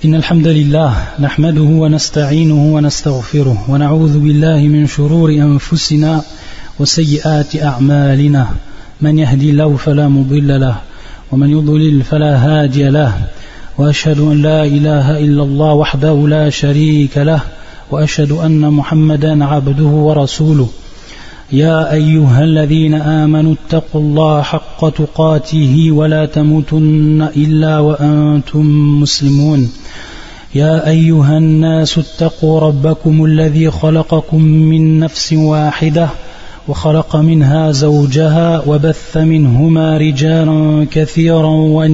إن الحمد لله نحمده ونستعينه ونستغفره ونعوذ بالله من شرور أنفسنا وسيئات أعمالنا من يهدي الله فلا مضل له ومن يضلل فلا هادي له وأشهد أن لا إله إلا الله وحده لا شريك له وأشهد أن محمدا عبده ورسوله يا أيها الذين آمنوا اتقوا الله حق تقاته ولا تموتن إلا وأنتم مسلمون يا أيها الناس اتقوا ربكم الذي خلقكم من نفس واحدة وخلق منها زوجها وبث منهما رجالا كثيرا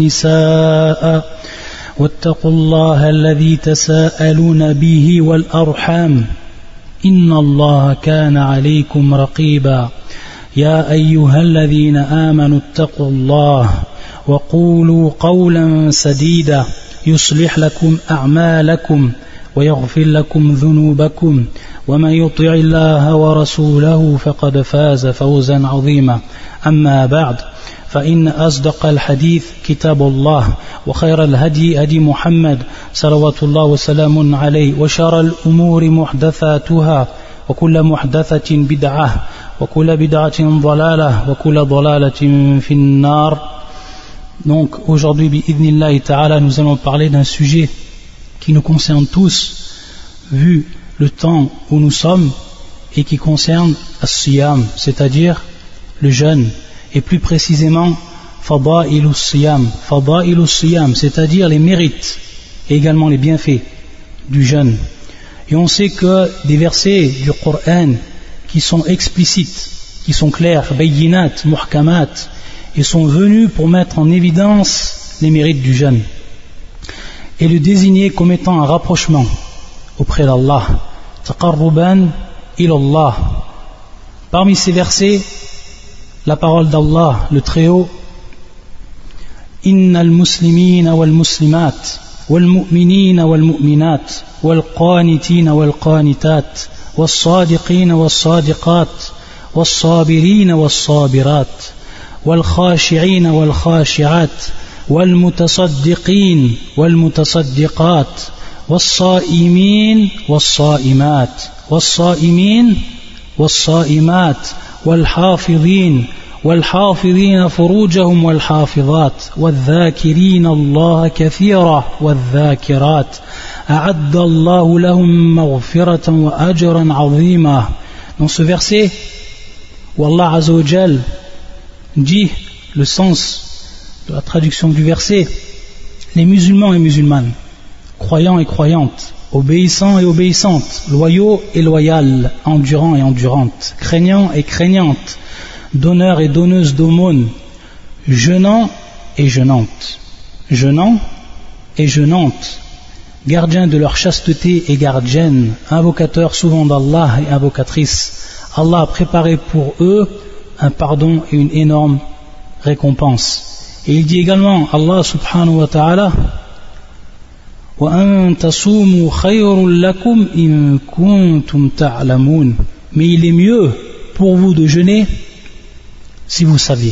ونساء واتقوا الله الذي تساءلون به والأرحام إن الله كان عليكم رقيبا يا أيها الذين آمنوا اتقوا الله وقولوا قولا سديدا يصلح لكم أعمالكم ويغفر لكم ذنوبكم ومن يطع الله ورسوله فقد فاز فوزا عظيما أما بعد فإن أصدق الحديث كتاب الله وخير الهدي هدي محمد صلوات الله وسلام عليه وشر الأمور محدثاتها وكل محدثة بدعة وكل بدعة ضلالة وكل ضلالة في النار. Donc aujourd'hui, bi'idhnillahi ta'ala, nous allons parler d'un sujet qui nous concerne tous, vu le temps où nous sommes, et qui concerne as-siyam, c'est-à-dire le jeûne, et plus précisément fada'ilus siyam, c'est-à-dire les mérites et également les bienfaits du jeûne. Et on sait que des versets du Coran qui sont explicites, qui sont clairs, bayyinat, muhkamat, et sont venus pour mettre en évidence les mérites du jeûne et le désigner comme étant un rapprochement auprès d'Allah, taqarruban ilallah. Parmi ces versets, la parole d'Allah, le Très-Haut, Innal muslimina wal muslimat wal mu'minina wal mu'minat wal qanitina wal qanitat was sadiqina was sadiqat was sabirina was sabirat wal khashi'ina wal khashi'at wal mutasaddiqin wal mutasaddiqat was sa'imin was sa'imat was sa'imin was sa'imat والحافظين والحافظين فروجهم والحافظات والذاكرين الله كثيرا والذاكرات أعد الله لهم مغفرة وأجرا عظيما. Dans ce verset où Allah Azza wa Jal dit le sens de la traduction du verset: les musulmans et musulmanes, croyants et croyantes, obéissants et obéissantes, loyaux et loyales, endurants et endurantes, craignants et craignantes, donneurs et donneuses d'aumônes, jeûnants et jeûnantes, gardiens de leur chasteté et gardiennes, invocateurs souvent d'Allah et invocatrices. Allah a préparé pour eux un pardon et une énorme récompense. Et il dit également, Allah subhanahu wa ta'ala, وَأَن تَصُومُوا خَيْرٌ لَكُمْ إِن كُنتُمْ تَعْلَمُونَ. Mais il est mieux pour vous de jeûner si vous saviez.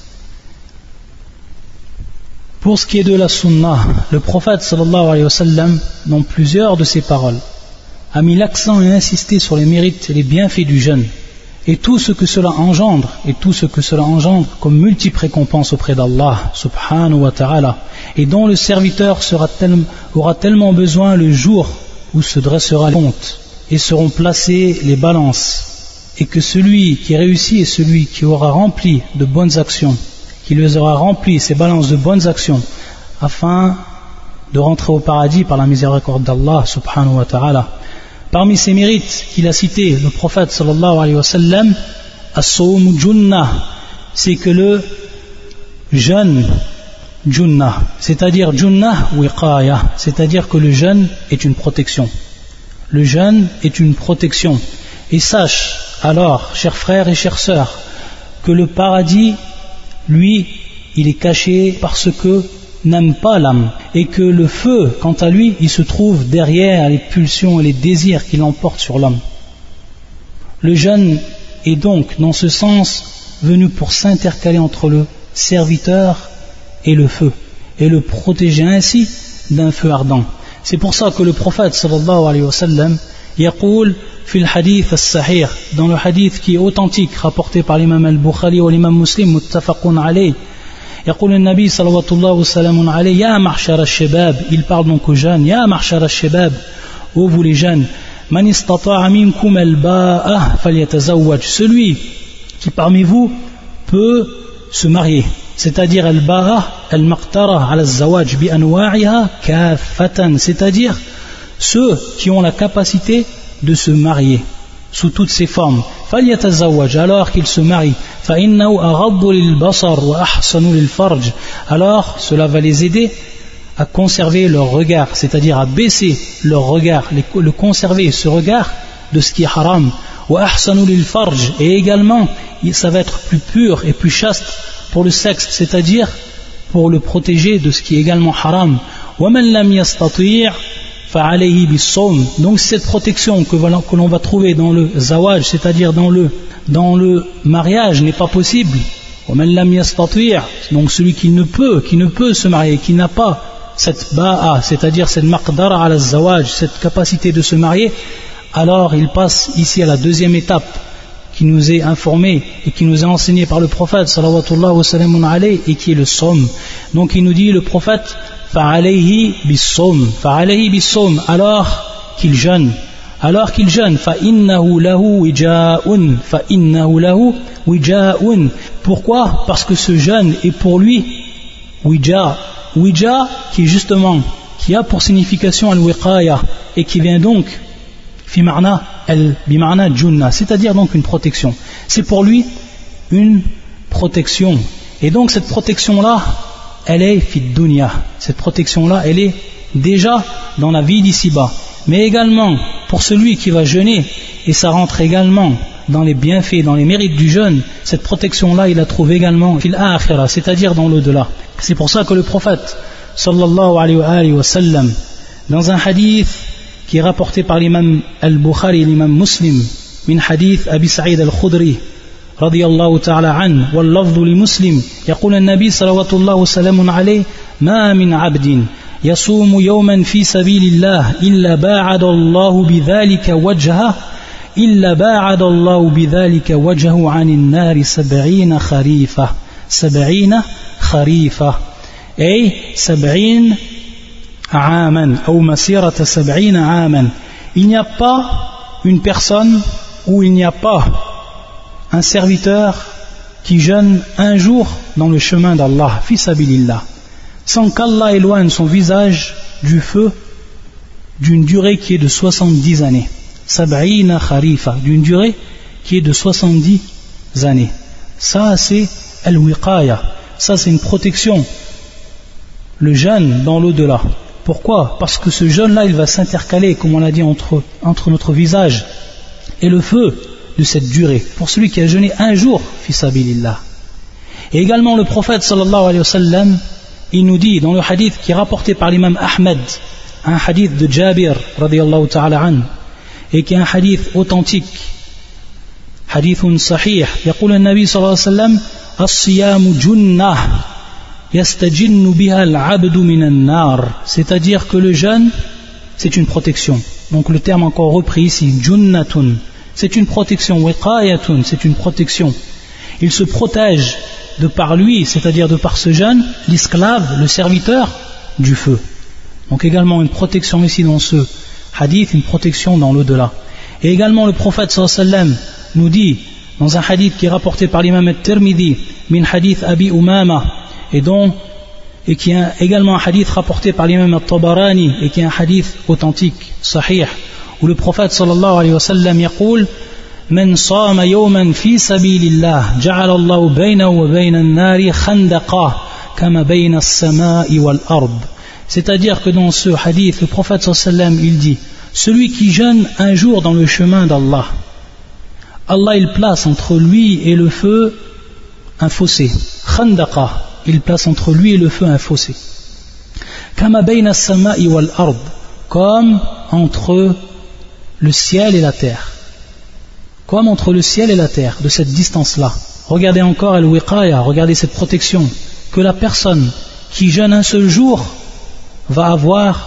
Pour ce qui est de la sunna, le prophète sallallahu alayhi wa sallam, dans plusieurs de ses paroles, a mis l'accent et insisté sur les mérites et les bienfaits du jeûne et tout ce que cela engendre comme multiples récompenses auprès d'Allah subhanahu wa ta'ala, et dont le serviteur aura tellement besoin le jour où se dressera le compte et seront placées les balances, et que celui qui réussit est celui qui aura rempli de bonnes actions, qui les aura rempli ces balances de bonnes actions afin de rentrer au paradis par la miséricorde d'Allah subhanahu wa ta'ala. Parmi ces mérites qu'il a cités, le prophète sallallahu alayhi wa sallam, as-sawm junnah, c'est que le jeûne, junnah, c'est-à-dire junnah wiqaya, c'est-à-dire que le jeûne est une protection. Le jeûne est une protection. Et sache alors, chers frères et chères sœurs, que le paradis, lui, il est caché parce que n'aime pas l'âme, et que le feu, quant à lui, il se trouve derrière les pulsions et les désirs qui l'emportent sur l'homme. Le jeûne est donc, dans ce sens, venu pour s'intercaler entre le serviteur et le feu, et le protéger ainsi d'un feu ardent. C'est pour ça que le prophète sallallahu alayhi wa sallam يقول في الحديث الصحيح, dans le hadith qui est authentique rapporté par l'imam al-Bukhari ou l'imam Muslim متفق عليه, يقول النبي صلى الله وسلم عليه يا معشر الشباب, il parle donc aux jeunes, يا معشر الشباب, ô vous les jeunes, من استطاع منكم الباءة فليتزوج, celui qui parmi vous peut se marier, c'est-à-dire al-ba'a al-maqtara ala al-zawaj bi anwa'iha kaffatan, c'est-à-dire ceux qui ont la capacité de se marier sous toutes ses formes. فليتزوج, alors qu'ils se marient. فإنه أغض للبصر وأحسن للفرج, alors cela va les aider à conserver leur regard, c'est-à-dire à baisser leur regard, le conserver ce regard de ce qui est haram. وأحسن للفرج, et également ça va être plus pur et plus chaste pour le sexe, c'est-à-dire pour le protéger de ce qui est également haram. ومن لم يستطيع فعليه بالصوم, donc cette protection que l'on va trouver dans le zawaj, c'est-à-dire dans le mariage, n'est pas possible. ومن لم يستطيع, donc celui qui ne peut se marier, qui n'a pas cette ba'a, c'est-à-dire cette maqdara ala zawaj, cette capacité de se marier, alors il passe ici à la deuxième étape qui nous est informée et qui nous est enseignée par le prophète sallallahu wa sallam alayhi, et qui est le somme. Donc il nous dit le prophète فعليه بالصوم, alors qu'il jeûne, فإنه له وجاء, pourquoi? Parce que ce jeûne est pour lui wija, qui a pour signification al-wiqaya, et qui vient donc bima'na junna, c'est-à-dire donc une protection. C'est pour lui une protection, et donc cette protection là elle est fid dunya, cette protection-là, elle est déjà dans la vie d'ici-bas. Mais également, pour celui qui va jeûner, et ça rentre également dans les bienfaits, dans les mérites du jeûne, cette protection-là, il la trouve également fil akhira, c'est-à-dire dans l'au-delà. C'est pour ça que le prophète, sallallahu alayhi wa sallam, dans un hadith qui est rapporté par l'imam al-Bukhari et l'imam Muslim, min hadith Abi Sa'id al-Khudri, رضي الله تعالى عنه واللفظ لمسلم, يقول النبي صلى الله وسلم عليه ما من عبد يصوم يوما في سبيل الله إلا باعد الله بذلك وجهه عن النار 70 خريفة أي 70 عاما أو مسيرة 70 عاما. Il n'y a pas une personne où il n'y a pas un serviteur qui jeûne un jour dans le chemin d'Allah, fi sabilillah, sans qu'Allah éloigne son visage du feu d'une durée qui est de 70 années. Sab'ina kharifa, d'une durée qui est de 70 années. Ça c'est al-wiqaya, ça c'est une protection. Le jeûne dans l'au-delà. Pourquoi? Parce que ce jeûne-là, il va s'intercaler, comme on l'a dit, entre notre visage et le feu de cette durée, pour celui qui a jeûné un jour, fi sabilillah. Et également le prophète sallallahu alayhi wa sallam, il nous dit dans le hadith qui est rapporté par l'imam Ahmed, un hadith de Jabir radiyallahu ta'ala an, et qui est un hadith authentique, hadithun sahih, يقول النبي صلى الله عليه وسلم الصيام جنة يستجن بها العبد من النار, c'est-à-dire que le jeûne c'est une protection. Donc le terme encore repris ici, junnatun, c'est une protection, wiqayatun, c'est une protection. Il se protège de par lui, c'est-à-dire de par ce jeûne, l'esclave, le serviteur du feu. Donc également une protection ici dans ce hadith, une protection dans l'au-delà. Et également le prophète sallallahu alayhi wa sallam nous dit dans un hadith qui est rapporté par l'imam al-Tirmidhi, min hadith Abi Umama, et qui est également un hadith rapporté par l'imam al-Tabarani, et qui est un hadith authentique, sahih, où le prophète sallallahu alayhi wa sallam يقول من صام يوما في سبيل الله جعل الله بينه وبين النار خندقا كما بين السماء والأرض. C'est-à-dire que dans ce hadith, le prophète sallallahu alayhi wa sallam, il dit, celui qui jeûne un jour dans le chemin d'Allah, Allah il place entre lui et le feu un fossé, khandaqa, il place entre lui et le feu un fossé, kama bayna as-sama'i wal ard, comme entre le ciel et la terre, comme entre le ciel et la terre, de cette distance-là. Regardez encore al-wiqaya, regardez cette protection que la personne qui jeûne un seul jour va avoir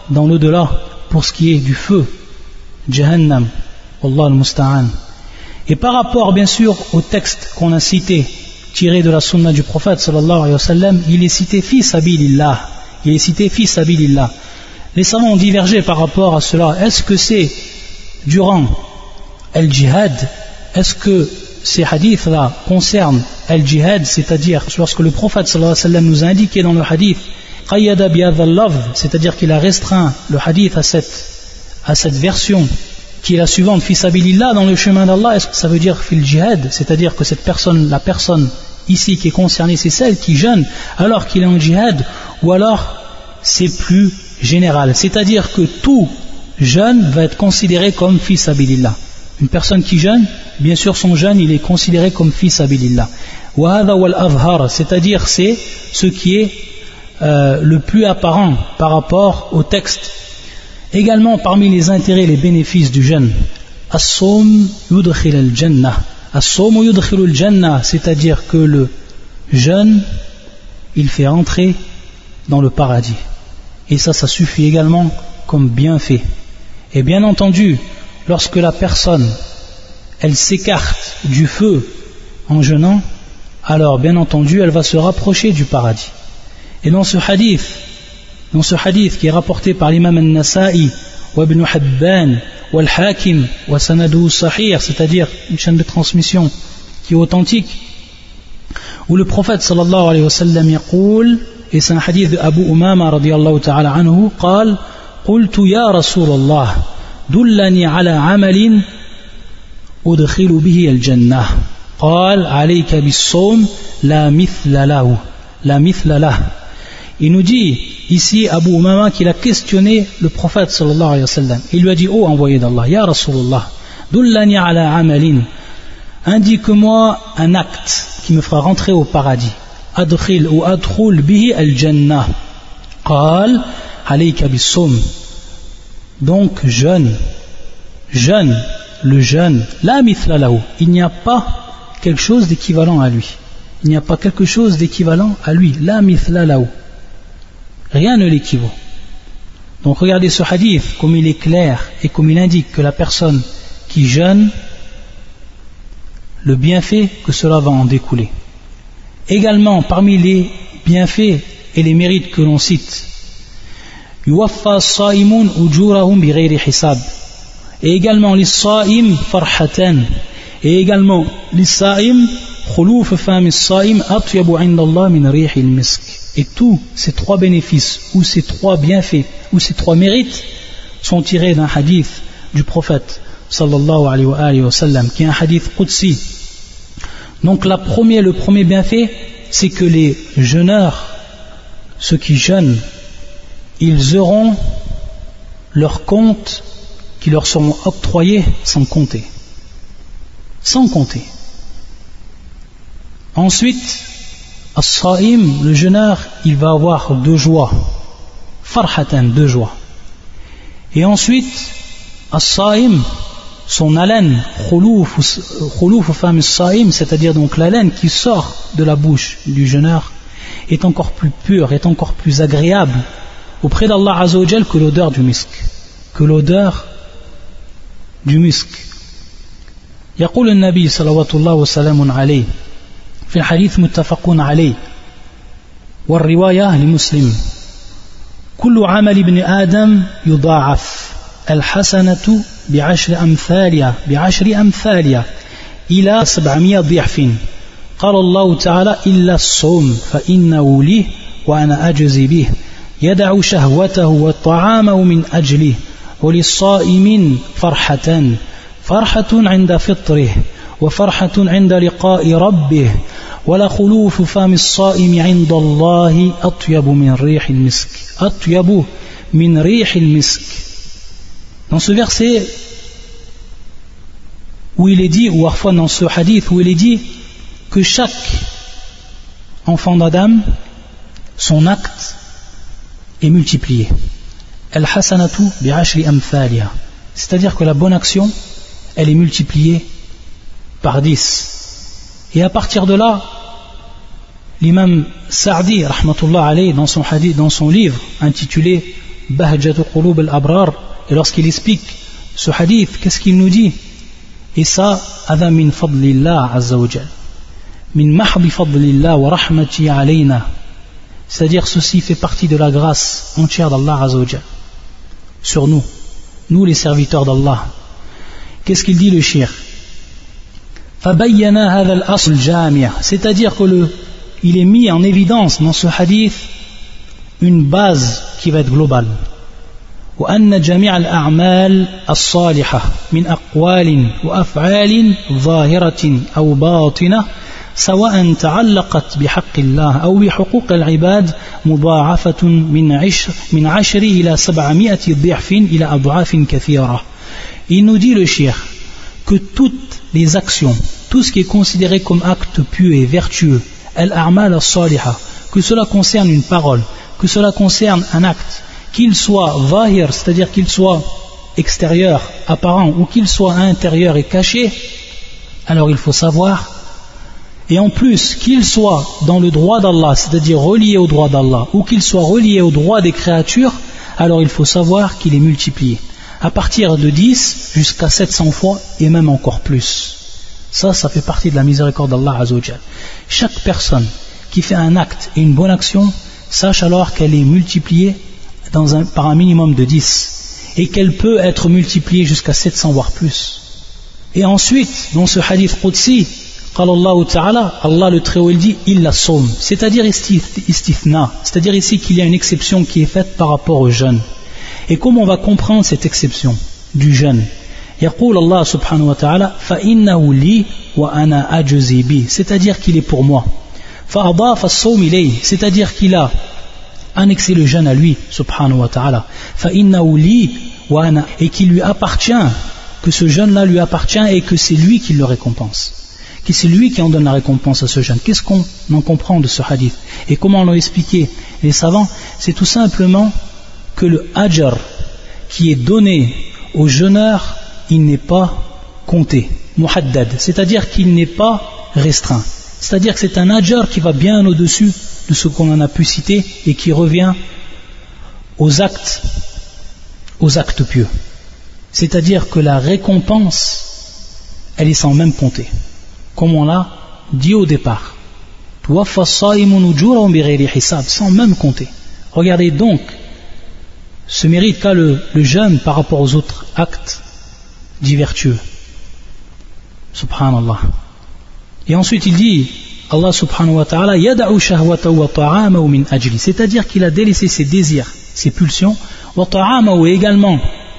dans l'au-delà pour ce qui est du feu, Jahannam, Wallah al-Musta'an. Et par rapport bien sûr au texte qu'on a cité, tiré de la sunna du prophète sallallahu alayhi wa sallam, il est cité fi sabilillah. Il est cité fi sabilillah. Les savants ont divergé par rapport à cela. Est-ce que c'est durant al-jihad? Est-ce que ces hadiths-là concernent al-jihad, c'est-à-dire lorsque le prophète sallallahu alayhi wa sallam nous a indiqué dans le hadith qayyada bi hadha al-lafz, c'est-à-dire qu'il a restreint le hadith à cette version qui est la suivante, fi sabilillah, dans le chemin d'Allah, est-ce que ça veut dire fil jihad, c'est-à-dire que la personne ici qui est concernée, c'est celle qui jeûne alors qu'il est en jihad, ou alors c'est plus général, c'est-à-dire que tout jeûne va être considéré comme fi sabilillah. Une personne qui jeûne, bien sûr son jeûne il est considéré comme fi sabilillah. Wa hadha wal azhar, c'est-à-dire c'est ce qui est le plus apparent par rapport au texte. Également parmi les intérêts et les bénéfices du jeûne, as-sawm yudkhil al-jannah. As-sawm yudkhil al-jannah, c'est-à-dire que le jeûne il fait entrer dans le paradis. Et ça suffit également comme bienfait. Et bien entendu, lorsque la personne elle s'écarte du feu en jeûnant, alors bien entendu elle va se rapprocher du paradis. Et dans ce hadith qui est rapporté par l'imam al-Nasa'i wa ibn Hibban wa al-Hakim wa sanadu sahih, c'est-à-dire une chaîne de transmission qui est authentique, où le prophète sallallahu alayhi wa sallam yaqul, et c'est un hadith de Abu Umama radiyallahu ta'ala anhu, قال قلت يا رسول الله دلني على عمل أدخل به الجنة قال عليك بالصوم لا مثل له. Il nous dit ici Abu Umama qu'il a questionné le prophète sallallahu alayhi wa sallam. Il lui a dit: oh envoyé d'Allah, ya Rasulullah, dullani ala amalin, indique-moi un acte qui me fera rentrer au paradis. Adkhil ou adkhul bihi al-jannah. Qal alayka bis-sawm. Donc jeûne, le jeûne, la mithla lahu, il n'y a pas quelque chose d'équivalent à lui. Il n'y a pas quelque chose d'équivalent à lui. La mithla lahu. Rien ne l'équivaut. Donc regardez ce hadith, comme il est clair et comme il indique que la personne qui jeûne, le bienfait que cela va en découler. Également, parmi les bienfaits et les mérites que l'on cite, yuwaffa as-sa'imun ujurahum bighayri hisab. Et également les sa'im farhatan. Et également les sa'im khuluf fam as-sa'im atyabu 'inda Allah min rihil misk. Et tous ces trois bénéfices, ou ces trois bienfaits, ou ces trois mérites sont tirés d'un hadith du prophète sallallahu alayhi wa sallam, qui est un hadith qudsi. Donc le premier bienfait, c'est que les jeûneurs, ceux qui jeûnent, ils auront leurs comptes qui leur seront octroyés sans compter. Sans compter. Ensuite, as-sa'im, le jeûneur, il va avoir deux joies. Farhatan, deux joies. Et ensuite, as-sa'im, son haleine, khuluf fam as-sa'im, c'est-à-dire donc l'haleine qui sort de la bouche du jeûneur, est encore plus pure, est encore plus agréable auprès d'Allah Azza wa Jal que l'odeur du misk. Que l'odeur du misk. يقول النبي صلوات الله وسلام عليه في الحديث متفق عليه والرواية لمسلم كل عمل ابن آدم يضاعف الحسنة بعشر أمثالها إلى 700 ضعف قال الله تعالى إلا الصوم فإنه لي وأنا أجزي به يدع شهوته وطعامه من أجله وللصائم فرحة عند فطره وفرحة عند لقاء ربه ولخلوف فم الصائم عند الله أطيب من ريح المسك. Dans ce verset où il est dit, ou parfois dans ce hadith où il est dit que chaque enfant d'Adam, son acte est multiplié. Al-hasanatu bi'ashri amthaliha, c'est-à-dire que la bonne action, elle est multipliée par 10. Et à partir de là, l'imam Sa'di rahmatullah alayhi, dans son livre intitulé Bahjatu Qulub al-Abrar, et lorsqu'il explique ce hadith, qu'est-ce qu'il nous dit? Et ça, Adha min fadlillah azza wa jal, min mahdi fadlillah wa rahmati alayna, c'est-à-dire ceci fait partie de la grâce entière d'Allah azza wa jal sur nous, nous les serviteurs d'Allah. Qu'est-ce qu'il dit le cheikh? Fabayyana hadha al-asl jami', c'est-à-dire que il est mis en évidence dans ce hadith une base qui va être globale. وأن جميع الأعمال الصالحة من أقوال وأفعال ظاهرة أو باطنة سواء تعلقت بحق الله أو بحقوق العباد مضاعفة من 10 إلى 700 ضعف إلى أضعاف كثيرة. Il nous dit le cheikh que toutes les actions, tout ce qui est considéré comme acte pieux et vertueux, al-a'mal as-salihah, que cela concerne une parole, que cela concerne un acte, qu'il soit zahir, c'est-à-dire qu'il soit extérieur, apparent, ou qu'il soit intérieur et caché, alors il faut savoir, et en plus qu'il soit dans le droit d'Allah, c'est-à-dire relié au droit d'Allah, ou qu'il soit relié au droit des créatures, alors il faut savoir qu'il est multiplié, à partir de 10 jusqu'à 700 fois, et même encore plus. Ça fait partie de la miséricorde d'Allah Azza wa Jal. Chaque personne qui fait un acte et une bonne action, sache alors qu'elle est multipliée par un minimum de 10 et qu'elle peut être multipliée jusqu'à 700 voire plus. Et ensuite, dans ce hadith Qudsi, Allah le Très-Haut il dit illa sawm, c'est-à-dire istithna, c'est-à-dire ici qu'il y a une exception qui est faite par rapport au jeûne. Et comment on va comprendre cette exception du jeûne? يقول Allah subhanahu wa ta'ala فإنه لي وأنا أجزي به, c'est-à-dire qu'il est pour moi. فأضاف الصوم إليه, c'est-à-dire qu'il a annexé le jeûne à lui subhanahu wa ta'ala. فإنه لي وأنا, et qu'il lui appartient, que ce jeûne-là lui appartient et que c'est lui qui le récompense, que c'est lui qui en donne la récompense à ce jeûne. Qu'est-ce qu'on en comprend de ce hadith et comment l'ont expliqué les savants? C'est tout simplement que le ajr qui est donné au jeûneur, il n'est pas compté, muhaddad, c'est-à-dire qu'il n'est pas restreint, c'est-à-dire que c'est un ajr qui va bien au-dessus de ce qu'on en a pu citer et qui revient aux actes pieux, c'est-à-dire que la récompense elle est sans même compter, comme on l'a dit au départ, sans même compter. Regardez donc ce mérite qu'a le jeûne par rapport aux autres actes dits vertueux. Subhanallah. Et ensuite il dit, Allah subhanahu wa ta'ala, yada'u shahwatahu wa ta'amahu min ajli, c'est-à-dire qu'il a délaissé ses désirs, ses pulsions, wa ta'amahu, et également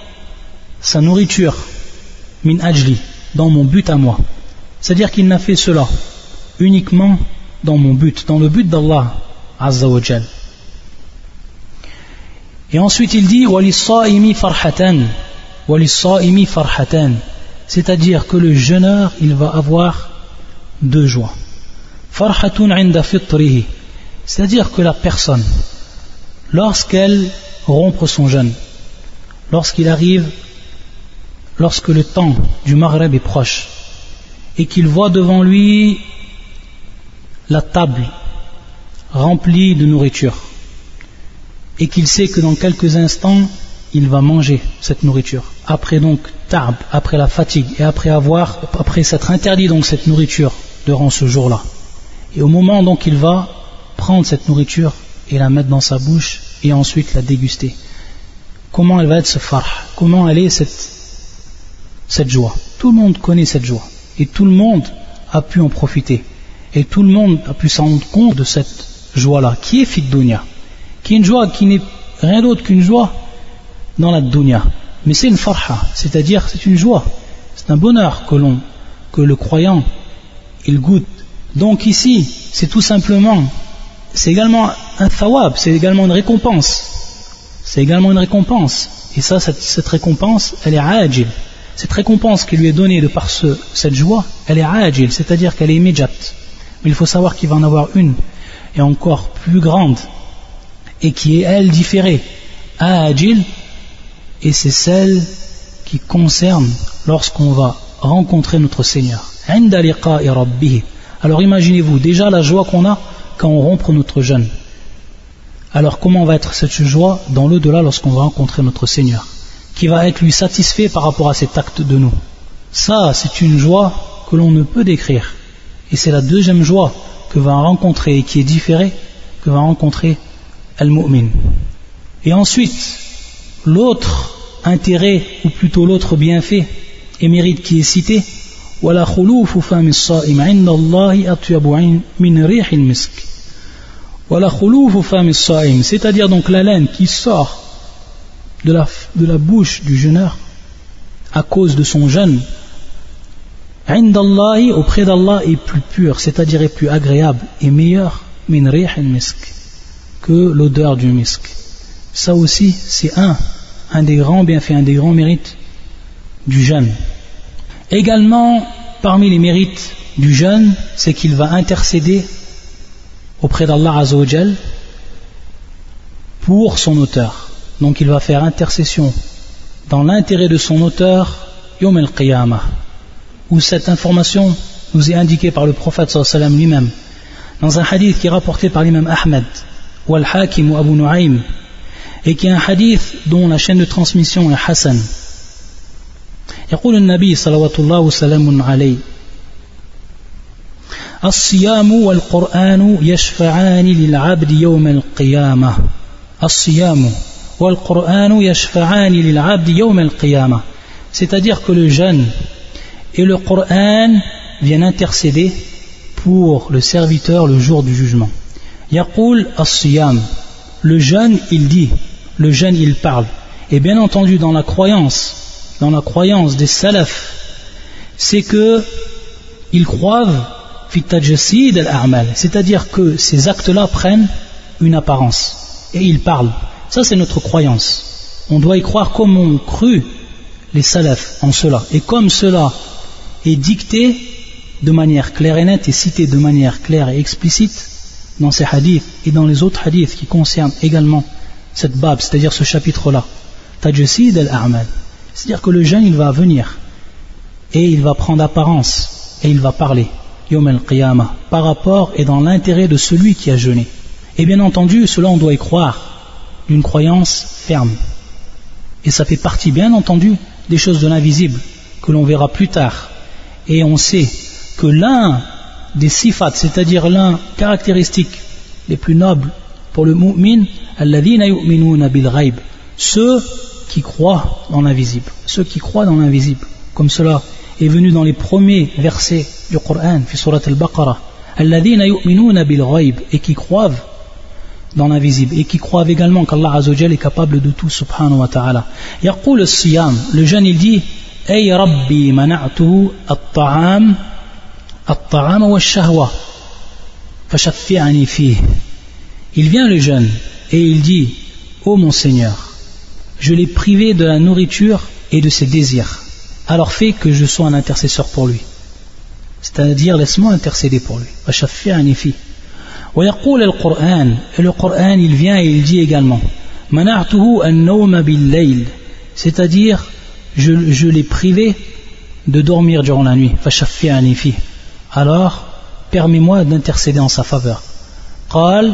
sa nourriture, min ajli, dans mon but à moi. C'est-à-dire qu'il n'a fait cela uniquement dans mon but, dans le but d'Allah azza wa jal. Et ensuite il dit walissaimi farhatan, walissaimi farhatan, c'est-à-dire que le jeûneur il va avoir deux joies. Farhatun 'inda fitrihi, c'est-à-dire que la personne lorsqu'elle rompt son jeûne, lorsque le temps du Maghreb est proche et qu'il voit devant lui la table remplie de nourriture et qu'il sait que dans quelques instants il va manger cette nourriture, après donc ta'b, après la fatigue et après s'être interdit donc cette nourriture durant ce jour-là, et au moment donc il va prendre cette nourriture et la mettre dans sa bouche et ensuite la déguster, comment elle va être ce farh, comment elle est cette joie? Tout le monde connaît cette joie et tout le monde a pu en profiter et tout le monde a pu s'en rendre compte de cette joie-là qui est fit dunya, qui est une joie qui n'est rien d'autre qu'une joie dans la dunya, mais c'est une farha, c'est-à-dire c'est une joie, c'est un bonheur que le croyant il goûte. Donc ici c'est tout simplement, c'est également un thawab, c'est également une récompense, et ça, cette récompense elle est ajil, cette récompense qui lui est donnée de par cette joie elle est ajil, c'est-à-dire qu'elle est immédiate, mais il faut savoir qu'il va en avoir une et encore plus grande et qui est elle différée, ajil, et c'est celle qui concerne lorsqu'on va rencontrer notre Seigneur. Alors imaginez-vous déjà la joie qu'on a quand on rompt notre jeûne. Alors comment va être cette joie dans l'au-delà lorsqu'on va rencontrer notre Seigneur, qui va être lui satisfait par rapport à cet acte de nous? Ça, c'est une joie que l'on ne peut décrire. Et c'est la deuxième joie que va rencontrer et qui est différée que va rencontrer Al-Mu'min. Et ensuite, l'autre intérêt, ou plutôt l'autre bienfait et mérite qui est cité, وَلَا خُلُوفُ فَمِ الصَّائِمِ عِنْدَ اللَّهِ أَطْيَبُ مِنْ رِيحِ الْمِسْكِ. وَلَا خُلُوفُ فَمِ الصَّائِمِ, c'est-à-dire donc l'haleine qui sort de la bouche du jeûneur à cause de son jeûne, عِنْدَ اللَّهِ, auprès d'Allah, est plus pure, c'est-à-dire est plus agréable et meilleure مِنْ رِيحِ الْمِسْكِ, que l'odeur du misk. Ça aussi, c'est un des grands bienfaits, un des grands mérites du jeûne. Également, parmi les mérites du jeûne, c'est qu'il va intercéder auprès d'Allah Azza wa Jal pour son auteur. Donc il va faire intercession dans l'intérêt de son auteur Yawm al-Qiyamah, où cette information nous est indiquée par le prophète sallallahu alayhi wa sallam lui-même dans un hadith qui est rapporté par l'imam Ahmed ou Al-Hakim ou Abu Nu'aym, et qui est un hadith dont la chaîne de transmission est Hassan. يقول النبي صلوات الله وسلام عليه الصيام والقرآن يشفعان للعبد يوم القيامة. الصيام والقرآن يشفعان للعبد يوم القيامة, c'est-à-dire que le jeûne et le Coran viennent intercéder pour le serviteur le jour du jugement. يقول الصيام, le jeûne il dit, le jeûne il parle, et bien entendu dans la croyance des salafs, c'est que ils croient fi tajsid al-a'mal, c'est-à-dire que ces actes-là prennent une apparence et ils parlent. Ça c'est notre croyance. On doit y croire comme ont cru les salafs en cela, et comme cela est dicté de manière claire et nette et cité de manière claire et explicite dans ces hadiths et dans les autres hadiths qui concernent également cette bab, c'est-à-dire ce chapitre-là, tajsid al-a'mal. C'est-à-dire que le jeûne il va venir et il va prendre apparence et il va parler Yawm al-Qiyamah par rapport et dans l'intérêt de celui qui a jeûné. Et bien entendu, cela on doit y croire d'une croyance ferme. Et ça fait partie bien entendu des choses de l'invisible que l'on verra plus tard. Et on sait que l'un des sifat, c'est-à-dire l'un caractéristique les plus nobles pour le mu'min, alladhina yu'minuna bil ghaib, ceux qui croient dans l'invisible, comme cela est venu dans les premiers versets du Coran, fi surat al-Baqarah, alladhina yu'minuna bil ghaib, et qui croient dans l'invisible, et qui croient également qu'Allah Azza wa Jalla est capable de tout, subhanahu wa ta'ala. Yaqul as-siyam, le jeune il dit, ay rabbi mana'tuhu at-ta'am wa ash-shahwa fashaffi'ani fihi. Il vient le jeune et il dit, ô mon Seigneur, je l'ai privé de la nourriture et de ses désirs, alors fais que je sois un intercesseur pour lui, c'est-à-dire laisse-moi intercéder pour lui. fashaffi'ani fihi. ويقول القرآن, et le Coran il vient et il dit également, منعته النوم بالليل, c'est-à-dire je l'ai privé de dormir durant la nuit. فشفعني فيه, alors permets-moi d'intercéder en sa faveur. قال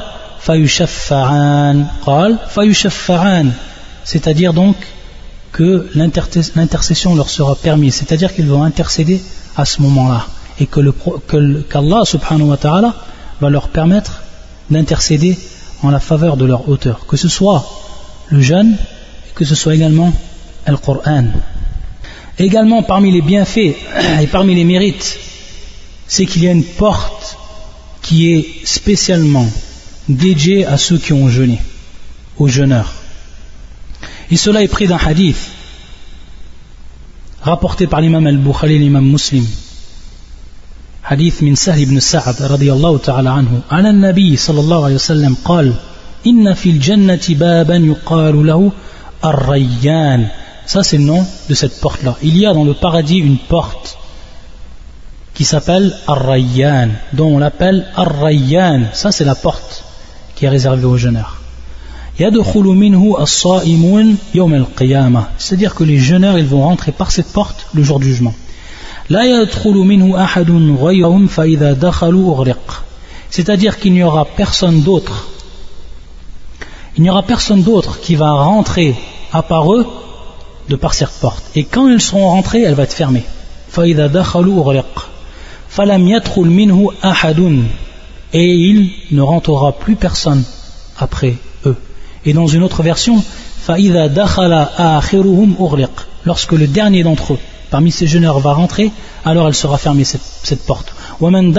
فيشفعان, c'est-à-dire donc que l'intercession leur sera permise, c'est-à-dire qu'ils vont intercéder à ce moment-là, et qu'Allah subhanahu wa ta'ala va leur permettre d'intercéder en la faveur de leur auteur, que ce soit le jeûne, que ce soit également le Coran. Également parmi les bienfaits et parmi les mérites, c'est qu'il y a une porte qui est spécialement dédiée à ceux qui ont jeûné, aux jeûneurs. Et cela est pris d'un hadith rapporté par l'imam al-Bukhari et l'imam Muslim. حديث من سهل بن سعد رضي الله تعالى عنه عن النبي صلى الله عليه وسلم قال إن في الجنة بابا يقال له الريان. Ça c'est le nom de cette porte là. Il y a dans le paradis une porte qui s'appelle Ar-Rayyan, dont on l'appelle Ar-Rayyan. Ça c'est la porte qui est réservée aux jeûneurs. يدخل منه الصائمون يوم القيامة, c'est-à-dire que les jeûneurs ils vont rentrer par cette porte le jour du jugement. لا يدخل منه أحد غيرهم فإذا دخلوا أغرق, c'est-à-dire qu'il n'y aura personne d'autre il n'y aura personne d'autre qui va rentrer à part eux de par cette porte. Et quand ils seront rentrés, elle va être fermée. فَإِذَا دَخَلُوا أُغْلِقَ فَلَمْ يَدْخُلْ مِنْهُ أَحَدٌ. Et il ne rentrera plus personne après eux. Et dans une autre version, فَإِذَا دَخَلَ آخِرُهُمْ أُغْلِقَ. Lorsque le dernier d'entre eux, parmi ces jeûneurs, va rentrer, alors elle sera fermée, cette porte. وَمَنْ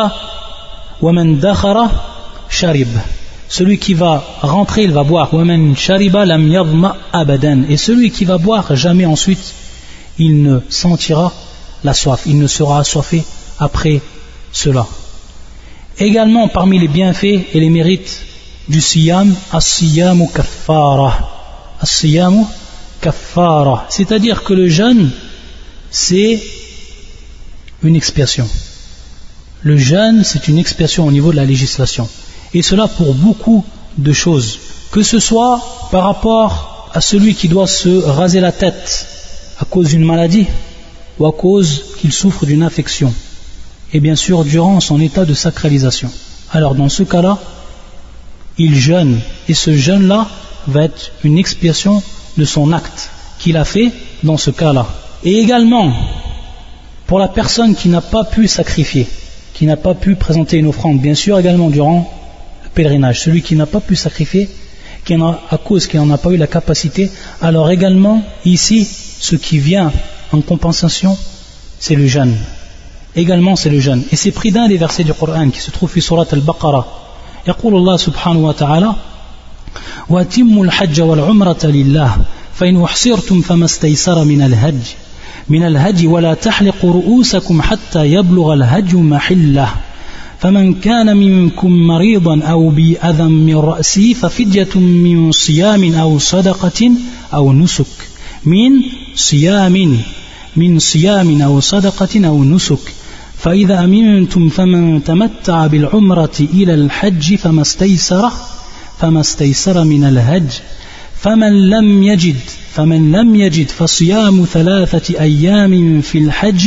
دَخَلَ شَرِبَ. Celui qui va rentrer, il va boire. وَمَنْ شَرِبَ لَمْ يَظْمَأْ أَبَدًا. Et celui qui va boire, jamais ensuite, il ne sentira la soif, il ne sera assoiffé après cela. Également, parmi les bienfaits et les mérites du siyam, as-siyamu kaffara. As-siyamu kaffara. C'est-à-dire que le jeûne, c'est une expiation. Le jeûne, c'est une expiation au niveau de la législation. Et cela pour beaucoup de choses. Que ce soit par rapport à celui qui doit se raser la tête à cause d'une maladie ou à cause qu'il souffre d'une infection. Et bien sûr, durant son état de sacralisation. Alors, dans ce cas-là, il jeûne. Et ce jeûne-là va être une expiation de son acte qu'il a fait dans ce cas-là. Et également, pour la personne qui n'a pas pu sacrifier, qui n'a pas pu présenter une offrande, bien sûr, également durant le pèlerinage, celui qui n'a pas pu sacrifier, à cause qu'il n'en a pas eu la capacité, alors également, ici, ce qui vient en compensation, c'est le jeûne. Également, c'est le jeûne. Et c'est pris d'un des versets du Coran qui se trouve في سورة البقرة. يقول الله سبحانه وتعالى وَأَتِمُّوا الْحَجَّ وَالْعُمْرَةَ لِلَّهِ فَإِنْ أُحْصِرْتُمْ فَمَا اسْتَيْسَرَ من الهدي ولا تحلقوا رؤوسكم حتى يبلغ الهدي محله فمن كان منكم مريضا أو بأذى من رأسه ففدية من صيام أو صدقة أو نسك من صيام أو صدقة أو نسك فإذا أمنتم فمن تمتع بالعمرة إلى الحج فما استيسر من الهدي فمن لم يجد فصيام 3 أيام في الحج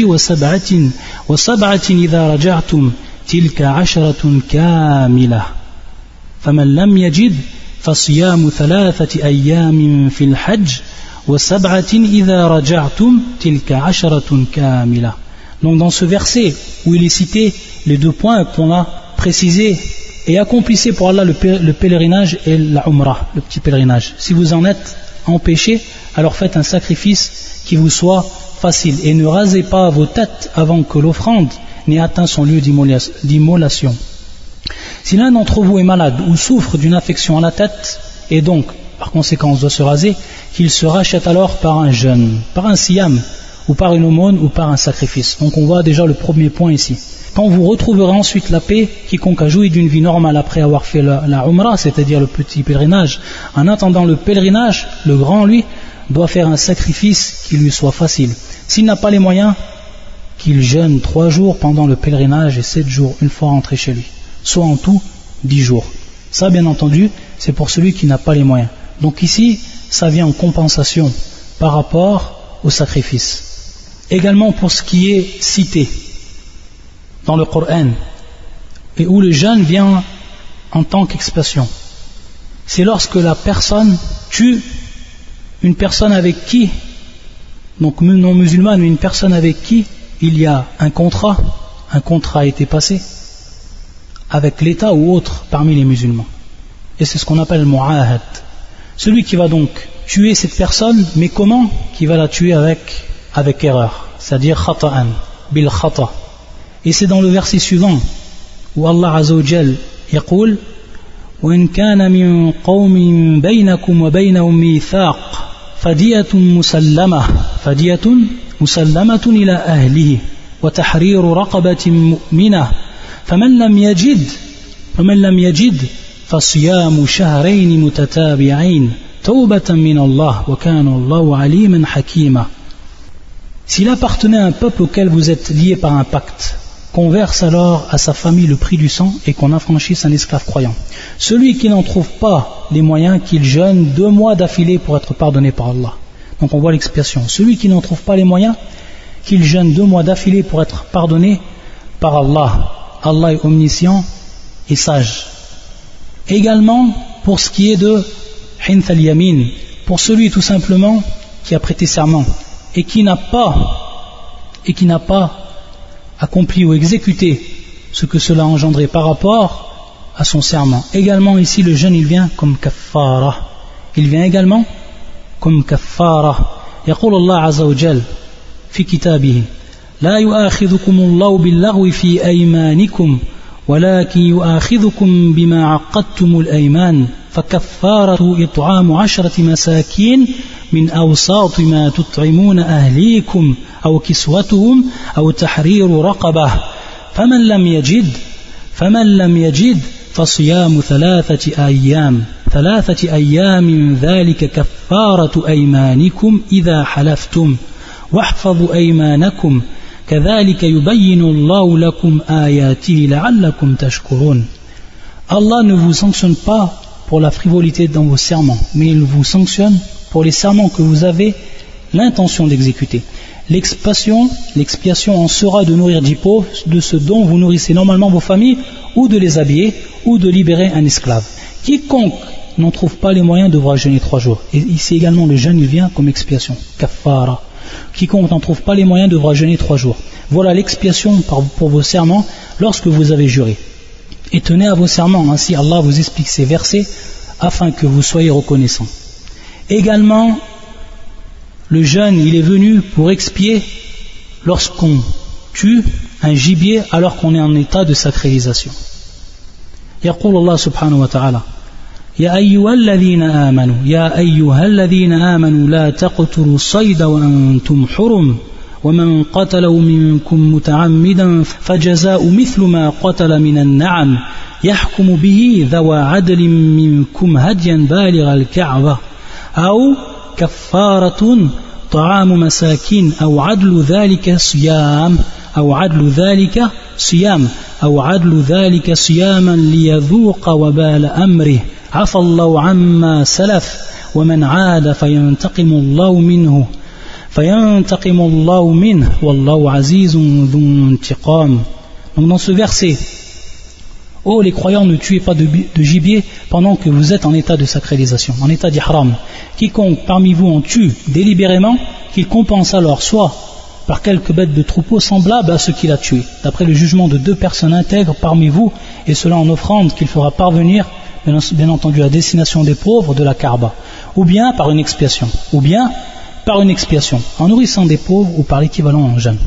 وسبعة إذا رجعتم تلك 10 كاملة فمن لم يجد فصيام 3 أيام في الحج وسبعة إذا رجعتم تلك 10 كاملة. Donc dans ce verset où il est cité les 2 points qu'on a précisés, et accomplissez pour Allah le pèlerinage et la umrah, le petit pèlerinage. Si vous en êtes empêché, alors faites un sacrifice qui vous soit facile et ne rasez pas vos têtes avant que l'offrande n'ait atteint son lieu d'immolation. Si l'un d'entre vous est malade ou souffre d'une infection à la tête et donc par conséquent doit se raser, qu'il se rachète alors par un jeûne, par un siyam ou par une aumône ou par un sacrifice. Donc on voit déjà le premier point ici. Quand vous retrouverez ensuite la paix, quiconque a joui d'une vie normale après avoir fait la umrah, c'est-à-dire le petit pèlerinage, en attendant le pèlerinage, le grand lui, doit faire un sacrifice qui lui soit facile. S'il n'a pas les moyens, qu'il jeûne 3 jours pendant le pèlerinage et 7 jours une fois rentré chez lui, soit en tout 10 jours. Ça, bien entendu, c'est pour celui qui n'a pas les moyens. Donc ici, ça vient en compensation par rapport au sacrifice. Également pour ce qui est cité dans le Coran et où le jeûne vient en tant qu'expression, c'est lorsque la personne tue une personne avec qui, donc non musulmane, mais une personne avec qui il y a un contrat a été passé avec l'État ou autre parmi les musulmans, et c'est ce qu'on appelle le mu'ahad. Celui qui va donc tuer cette personne, mais comment? Qui va la tuer avec erreur, c'est-à-dire khata'an, bil khata'. Et c'est dans le verset suivant où Allah Azza wa Jal يقول وإن كان من قوم بينكم وبينهم ميثاق فدية مسلمة إلى أهله وتحرير رقبة مؤمنة فمن لم يجد فصيام شهرين متتابعين توبة من الله وكان الله عليما حكيما. S'il appartenait à un peuple auquel vous êtes liés par un pacte, qu'on verse alors à sa famille le prix du sang et qu'on affranchisse un esclave croyant. Celui qui n'en trouve pas les moyens, qu'il jeûne 2 mois d'affilée pour être pardonné par Allah. Donc on voit l'expiation. Celui qui n'en trouve pas les moyens, qu'il jeûne 2 mois d'affilée pour être pardonné par Allah. Allah est omniscient et sage. Également, pour ce qui est de Hinth al-Yamin, pour celui tout simplement qui a prêté serment et qui n'a pas accompli ou exécuté ce que cela a engendré par rapport à son serment. Également ici le jeûne il vient comme kaffara. Il vient également comme kaffara. يقول الله عز وجل في كتابه لا يؤاخذكم الله باللغو في أيمانكم ولكن يؤاخذكم بما عقدتم الأيمان فكفارة إطعام 10 مساكين من أوساط ما تطعمون أهليكم أو كسوتهم أو تحرير رقبة فمن لم يجد فصيام 3 أيام ذلك كفارة أيمانكم إذا حلفتم واحفظوا أيمانكم كذلك يبين الله لكم آياته لعلكم تشكرون. Allah ne vous sanctionne pas pour la frivolité dans vos serments, mais il vous sanctionne pour les serments que vous avez l'intention d'exécuter. L'expiation en sera de nourrir 10 pauvres de ce dont vous nourrissez normalement vos familles, ou de les habiller, ou de libérer un esclave. Quiconque n'en trouve pas les moyens devra jeûner 3 jours. Et ici également le jeûne il vient comme expiation, kaffara. Quiconque n'en trouve pas les moyens devra jeûner 3 jours. Voilà l'expiation pour vos serments lorsque vous avez juré. Et tenez à vos serments, ainsi Allah vous explique ces versets afin que vous soyez reconnaissants. Également, le jeûne il est venu pour expier lorsqu'on tue un gibier alors qu'on est en état de sacralisation. يقول الله سبحانه وتعالى يا أيها الذين آمنوا لا تقتلوا الصيد وأنتم حرم ومن قتله منكم متعمدا فجزاء مثل ما قتل من النعم يحكم به ذوى عدل منكم هديا بالغ الكعبة أو كفارة طعام مساكين أو عدل ذلك صياما ليذوق وبال أمره عفى الله عما سلف ومن عاد فينتقم الله منه والله عزيز ذو انتقام. Donc dans ce verset, ô les croyants, ne tuez pas de gibier pendant que vous êtes en état de sacralisation, en état d'ihram. Quiconque parmi vous en tue délibérément, qu'il compense alors soit par quelques bêtes de troupeau semblables à ce qu'il a tué, d'après le jugement de 2 personnes intègres parmi vous, et cela en offrande qu'il fera parvenir, bien entendu à destination des pauvres de la Kaaba, ou bien par une expiation, en nourrissant des pauvres, ou par l'équivalent en jeûne,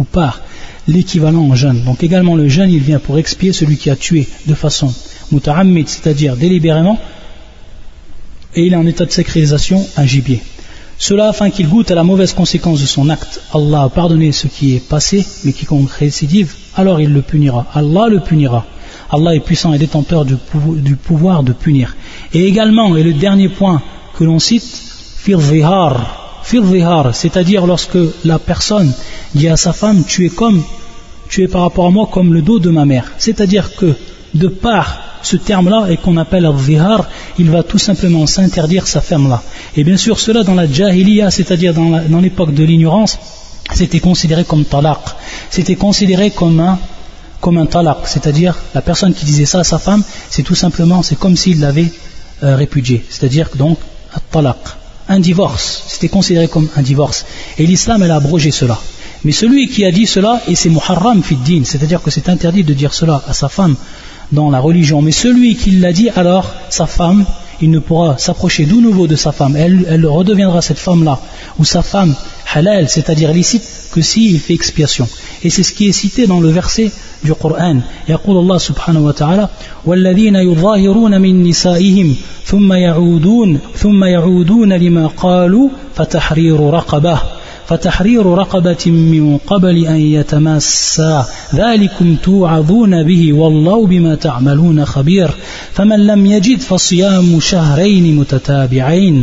Donc également le jeûne il vient pour expier celui qui a tué de façon muta'ammid, c'est-à-dire délibérément, et il est en état de sacralisation un gibier. Cela afin qu'il goûte à la mauvaise conséquence de son acte. Allah a pardonné ce qui est passé, mais quiconque récidive, alors il le punira. Allah le punira. Allah est puissant et détenteur du pouvoir de punir. Et également, et le dernier point que l'on cite, fil zihar, c'est-à-dire lorsque la personne dit à sa femme, tu es par rapport à moi comme le dos de ma mère. C'est-à-dire que de par ce terme-là, et qu'on appelle al-zihar, il va tout simplement s'interdire sa femme-là. Et bien sûr, cela dans la jahiliya, c'est-à-dire dans l'époque de l'ignorance, c'était considéré comme talaq. C'était considéré comme un talaq, c'est-à-dire la personne qui disait ça à sa femme, c'est comme s'il l'avait répudié. C'est-à-dire donc talaq, un divorce. C'était considéré comme un divorce. Et l'islam, elle a abrogé cela. Mais celui qui a dit cela, et c'est muharram fid din, c'est-à-dire que c'est interdit de dire cela à sa femme dans la religion, mais celui qui l'a dit, alors sa femme, il ne pourra s'approcher de nouveau de sa femme, elle redeviendra cette femme-là, ou sa femme halal, c'est-à-dire licite, que s'il fait expiation. Et c'est ce qui est cité dans le verset du Coran. يقول الله سبحانه وتعالى والذين يظاهرون من نسائهم ثم يعودون لما قالوا فتحرير رقبة من قبل أن يتماسا ذلكم توعظون به والله بما تعملون خبير فمن لم يجد فصيام شهرين متتابعين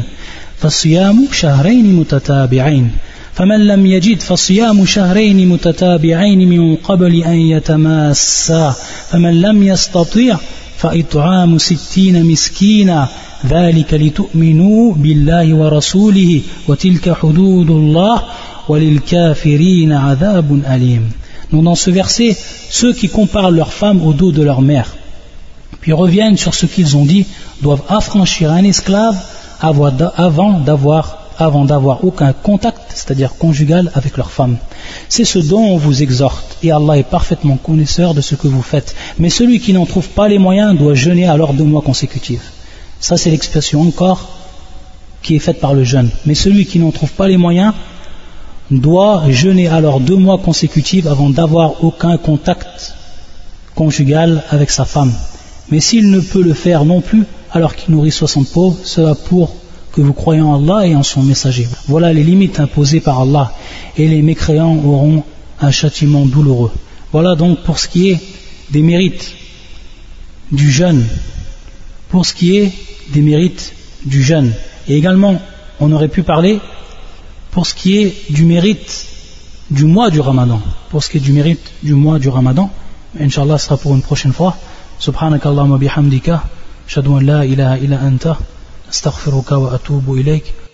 من قبل أن يتماسا فمن لم يستطيع فإطعام 60 مسكينا ذلك لتؤمنوا بالله ورسوله وتلك حدود الله وللكافرين عذاب أليم. Donc dans ce verset, ceux qui comparent leur femme au dos de leur mère, puis reviennent sur ce qu'ils ont dit, doivent affranchir un esclave avant d'avoir aucun contact, c'est-à-dire conjugal, avec leur femme. C'est ce dont on vous exhorte, et Allah est parfaitement connaisseur de ce que vous faites. Mais celui qui n'en trouve pas les moyens doit jeûner alors 2 mois consécutifs. Ça, c'est l'expression encore qui est faite par le jeûne. Mais celui qui n'en trouve pas les moyens doit jeûner alors 2 mois consécutifs avant d'avoir aucun contact conjugal avec sa femme. Mais s'il ne peut le faire non plus, alors qu'il nourrit 60 pauvres, cela pour que vous croyez en Allah et en son messager. Voilà les limites imposées par Allah, et les mécréants auront un châtiment douloureux. Voilà donc pour ce qui est des mérites du jeûne. Pour ce qui est des mérites du jeûne. Et également, on aurait pu parler pour ce qui est du mérite du mois du Ramadan. Pour ce qui est du mérite du mois du Ramadan, Inch'Allah, ce sera pour une prochaine fois. Subhanakallahumma bihamdika, ashhadu an la ilaha illa anta, astaghfiruka wa atubu ilayk.